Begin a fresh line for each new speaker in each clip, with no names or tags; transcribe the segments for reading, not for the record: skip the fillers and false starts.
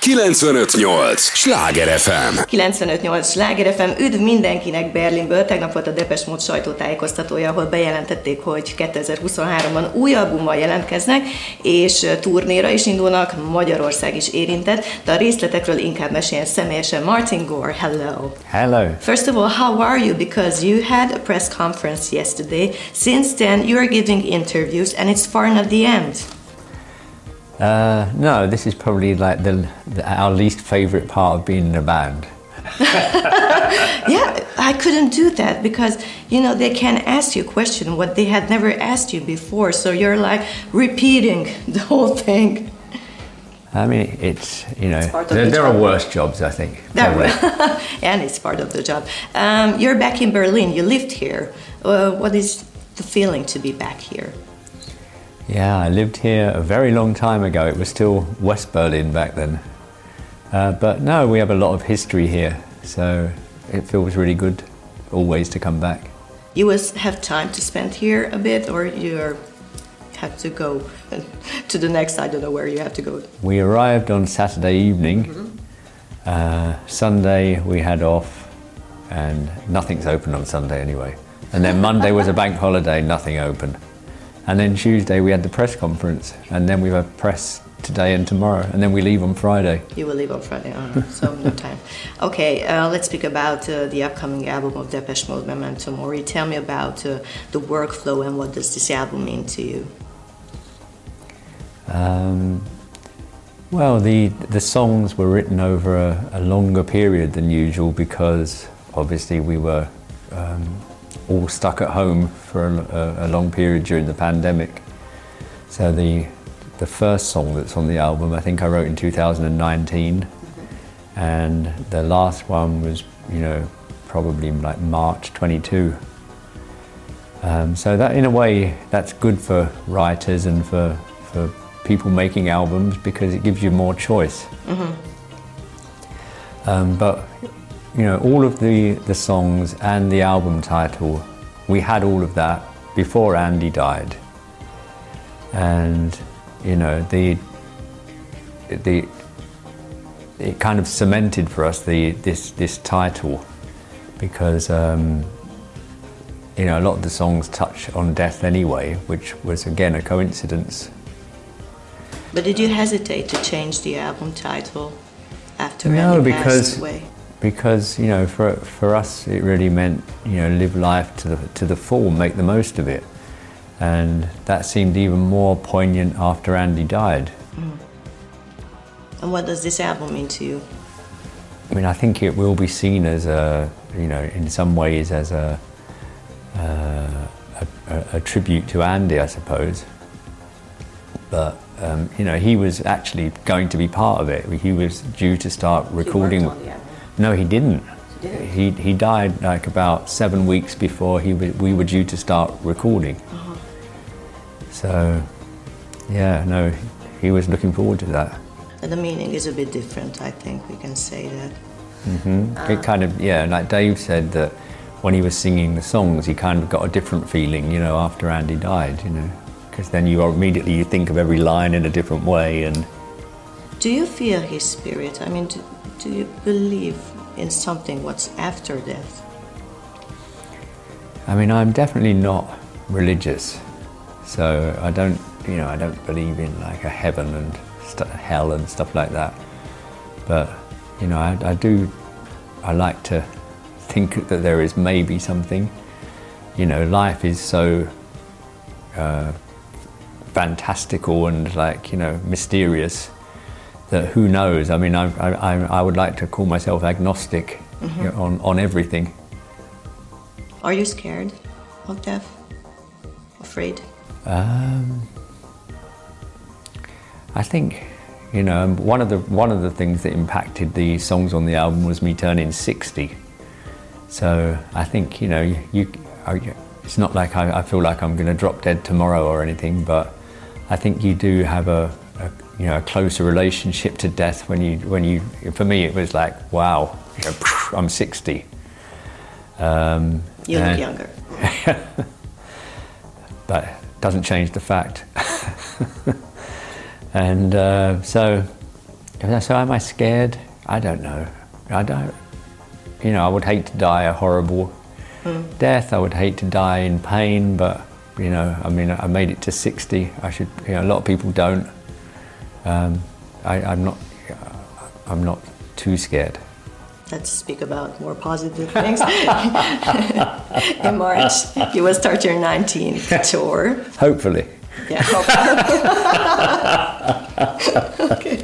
95.8 Sláger FM.
95.8 Sláger FM. Üdv mindenkinek Berlinből. Tegnap volt a Depeche Mode sajtótájékoztatója, ahol bejelentették, hogy 2023-ban új albummal jelentkeznek, és turnéra is indulnak, Magyarország is érintett, de a részletekről inkább meséljen személyesen Martin Gore. Hello.
Hello.
First of all, how are you? Because you had a press conference yesterday. Since then, you are giving interviews, and it's far not the end.
No, this is probably like our least favourite part of being in a band.
Yeah, I couldn't do that because, you know, they can ask you a question what they had never asked you before, so you're like repeating the whole thing.
I mean, it's, you know,
there
are worse jobs, I think.
And it's part of the job. You're back in Berlin, you lived here. What is the feeling to be back here?
Yeah, I lived here a very long time ago. It was still West Berlin back then. But no, we have a lot of history here, so it feels really good always to come back.
You have time to spend here a bit, or you have to go to the next, I don't know where you have to go.
We arrived on Saturday evening. Sunday we had off, and nothing's open on Sunday anyway. And then Monday was a bank holiday, nothing open. And then Tuesday we had the press conference, and then we have press today and tomorrow, and then we leave on Friday.
You will leave on Friday, so no time. Okay, let's speak about the upcoming album of Depeche Mode, Memento Mori. Tell me about the workflow and what does this album mean to you?
Well, the songs were written over a longer period than usual because obviously we were all stuck at home for a long period during the pandemic. So the first song that's on the album I think I wrote in 2019, and the last one was, you know, probably like March 22. So that in a way that's good for writers and for people making albums because it gives you more choice. But you know, all of the songs and the album title, we had all of that before Andy died. And, you know, it kind of cemented for us this title because, you know, a lot of the songs touch on death anyway, which was again a coincidence.
But did you hesitate to change the album title after Andy passed away?
Because, you know, for us it really meant, you know, live life to the full, make the most of it, and that seemed even more poignant after Andy died.
And what does this album mean to you?
I mean, I think it will be seen as a, you know, in some ways as a tribute to Andy, I suppose. But you know, he was actually going to be part of it. He was due to start recording.
He worked on the album.
No, he didn't. He died like about 7 weeks before we were due to start recording. So, yeah, no, he was looking forward to that.
And the meaning is a bit different, I think we can say that.
It kind of, yeah, like Dave said that when he was singing the songs, he kind of got a different feeling, you know, after Andy died, you know, because then you think of every line in a different way. And
do you feel his spirit? I mean, do you believe in something what's after death?
I mean, I'm definitely not religious, so I don't believe in like a heaven and hell and stuff like that. But, you know, I like to think that there is maybe something. You know, life is so fantastical and, like, you know, mysterious that who knows. I mean, I would like to call myself agnostic, you know, on everything.
Are you scared of death? Afraid?
I think, you know, one of the things that impacted the songs on the album was me turning 60. So I think, you know, it's not like I feel like I'm going to drop dead tomorrow or anything, but I think you do have a closer relationship to death when you. For me, it was like, wow, you know, I'm 60.
You look younger.
But doesn't change the fact. And so, So am I scared? I don't know. I don't. You know, I would hate to die a horrible death. I would hate to die in pain, but you know, I mean, I made it to 60. I should. You know, a lot of people don't. I'm not too scared.
Let's speak about more positive things. In March, you will start your 19th tour.
Hopefully.
Yeah, hopefully. Okay.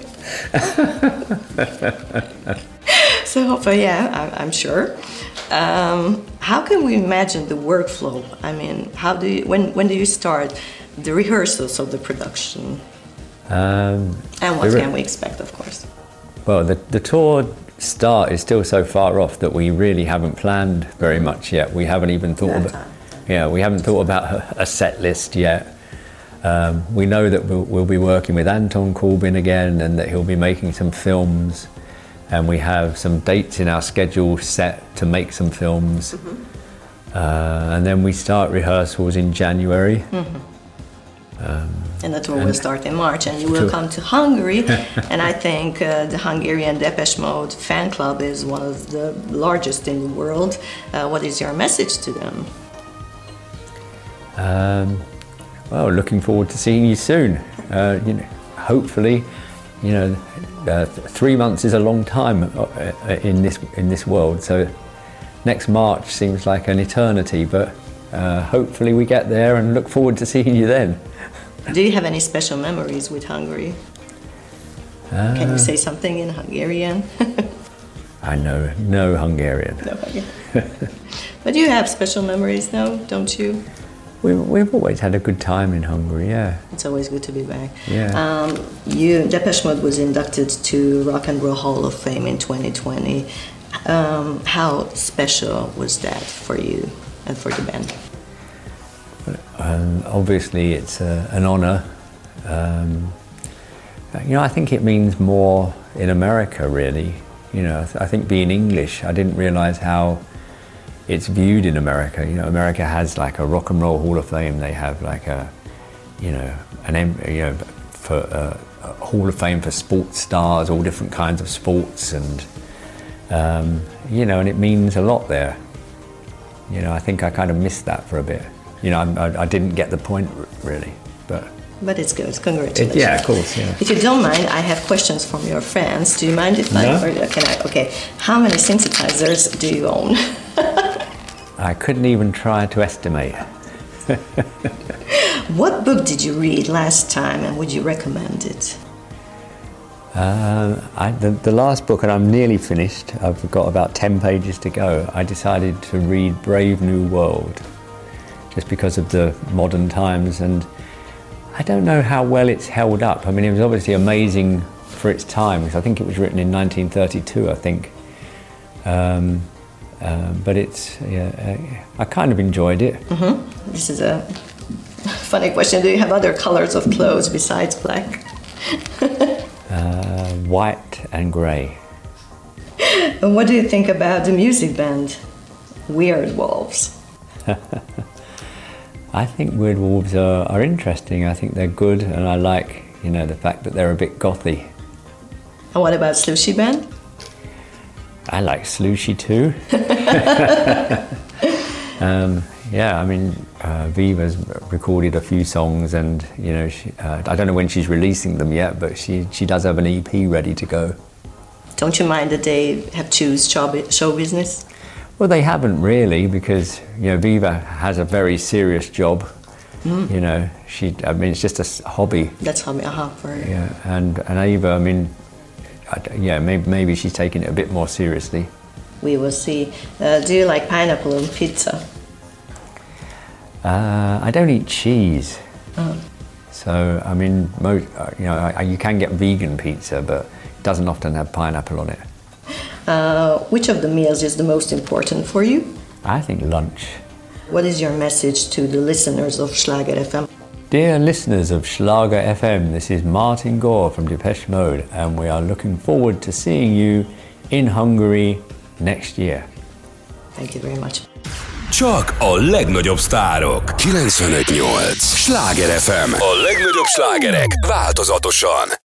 So hopefully, yeah, I'm sure. How can we imagine the workflow? I mean, when do you start the rehearsals of the production? And what can we expect, of course?
Well, the tour start is still so far off that we really haven't planned very much yet. We haven't even thought we haven't thought about a set list yet. We know that we'll be working with Anton Corbijn again, and that he'll be making some films, and we have some dates in our schedule set to make some films. And then we start rehearsals in January.
And the tour will start in March, and you will come to Hungary. And I think the Hungarian Depeche Mode fan club is one of the largest in the world. What is your message to them?
Well, looking forward to seeing you soon. You know, hopefully, you know, 3 months is a long time in this world. So next March seems like an eternity, but hopefully we get there, and look forward to seeing you then.
Do you have any special memories with Hungary? Can you say something in Hungarian?
I know no Hungarian.
No Hungarian. But you have special memories now, don't you?
We've always had a good time in Hungary, yeah.
It's always good to be back.
Yeah.
Depeche Mode was inducted to Rock and Roll Hall of Fame in 2020. How special was that for you and for the band?
Obviously, it's an honour. You know, I think it means more in America, really. You know, I think being English, I didn't realise how it's viewed in America. You know, America has like a Rock and Roll Hall of Fame. They have like a Hall of Fame for sports stars, all different kinds of sports, and you know, and it means a lot there. You know, I think I kind of missed that for a bit. You know, I didn't get the point really, but
it's good. Congratulations.
Yeah, of course. Yeah.
If you don't mind, I have questions from your fans. Do you mind if I?
No.
Or can I? Okay. How many synthesizers do you own?
I couldn't even try to estimate.
What book did you read last time, and would you recommend it?
The last book, and I'm nearly finished. I've got about 10 pages to go. I decided to read Brave New World, just because of the modern times, and I don't know how well it's held up. I mean, it was obviously amazing for its time, because I think it was written in 1932, I think. But it's, I kind of enjoyed it.
This is a funny question. Do you have other colors of clothes besides black?
White and grey.
And what do you think about the music band Weird Wolves?
I think Weird Wolves are interesting. I think they're good, and I like, you know, the fact that they're a bit gothy.
And what about Slushie Band?
I like Slushie too. Yeah, I mean, Viva's recorded a few songs, and you know, I don't know when she's releasing them yet, but she does have an EP ready to go.
Don't you mind that they have choose show business?
Well, they haven't really, because you know, Viva has a very serious job. You know, I mean, it's just a hobby.
That's hobby, for her.
Yeah, and Ava, I mean, maybe she's taking it a bit more seriously.
We will see. Do you like pineapple on pizza?
I don't eat cheese. So, I mean, you know, you can get vegan pizza, but it doesn't often have pineapple on it.
Which of the meals is the most important for you?
I think lunch.
What is your message to the listeners of Schlager FM?
Dear listeners of Schlager FM, this is Martin Gore from Depeche Mode, and we are looking forward to seeing you in Hungary next year.
Thank you very much.
Csak a legnagyobb sztárok. 95.8 Schlager FM. A legnagyobb slágerek változatosan.